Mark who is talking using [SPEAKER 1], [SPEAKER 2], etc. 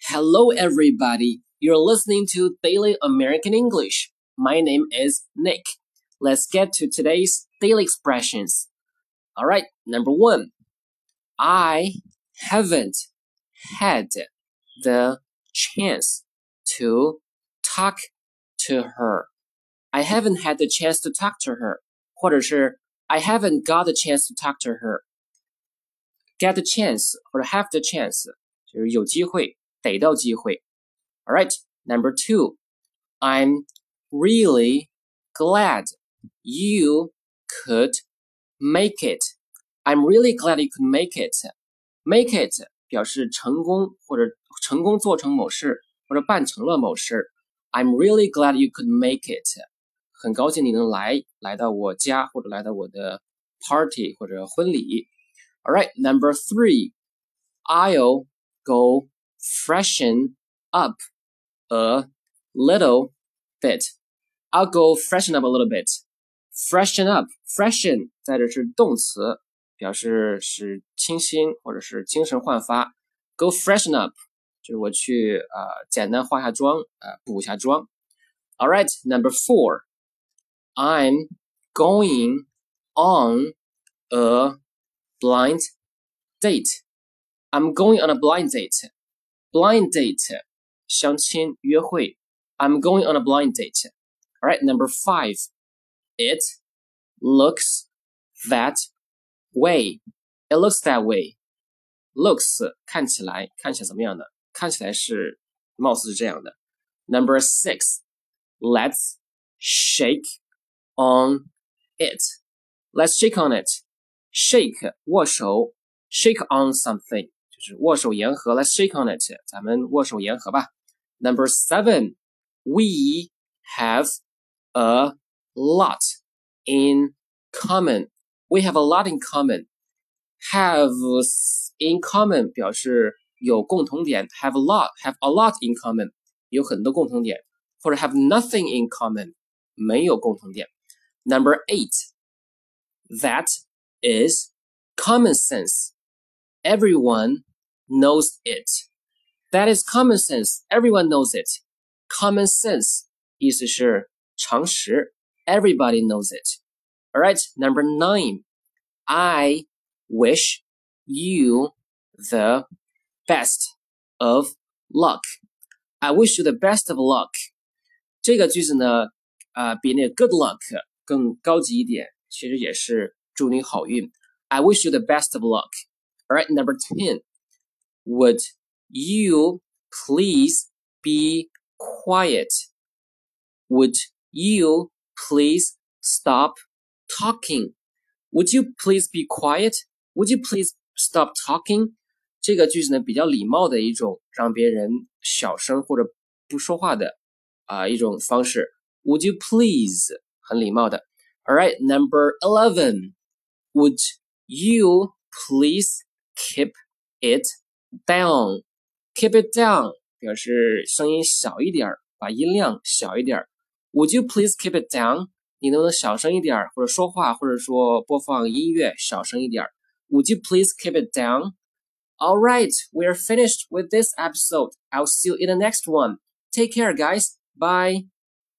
[SPEAKER 1] Hello, everybody. You're listening to Daily American English. My name is Nick. Let's get to today's daily expressions. All right, number 1. I haven't had the chance to talk to her. I haven't had the chance to talk to her. 或者是 I haven't got the chance to talk to her. Get the chance 或者 have the chance 就是有机会逮到机会。All right, number 2. I'm really glad you could make it. I'm really glad you could make it. Make it 表示成功或者成功做成某事或者办成了某事。I'm really glad you could make it. 很高兴你能来到我家或者来到我的 party 或者婚礼。All right, number 3. I'll go freshen up a little bit. I'll go freshen up a little bit. Freshen up, freshen 在这是动词，表示使清新或者是精神焕发。Go freshen up 就是我去简单化下妆，补一下妆。All right, number 4. I'm going on a blind date. I'm going on a blind date. Blind date 相亲约会。I'm going on a blind date. All right, number 5. It looks that way. It looks that way. Looks 看起来怎么样的？看起来是貌似是这样的。Number 6. Let's shake on it. Let's shake on it. Shake 握手 shake on something 就是握手言和。Let's shake on it. 咱们握手言和吧。Number 7. We have a lot in common. We have a lot in common. Have in common 表示有共同点。Have a lot in common 有很多共同点。或者 have nothing in common 没有共同点。Number 8. That is common sense. Everyone knows it. That is common sense. Everyone knows it. Common sense 意思是常识。Everybody knows it. All right, number 9. I wish you the best of luck. I wish you the best of luck. 这个句子呢，比那个 good luck 更高级一点，其实也是祝你好运。I wish you the best of luck. All right, number 10. Would you please be quiet? Would you please stop talking? Would you please be quiet? Would you please stop talking? 这个句子呢，比较礼貌的一种让别人小声或者不说话的一种方式。Would you please 很礼貌的。All right, number 11. Would you please keep it down? Keep it down 表示声音小一点，把音量小一点。Would you please keep it down? 你能不能小声一点，或者说话，或者说播放音乐小声一点。Would you please keep it down? All right, we're finished with this episode. I'll see you in the next one. Take care, guys. Bye.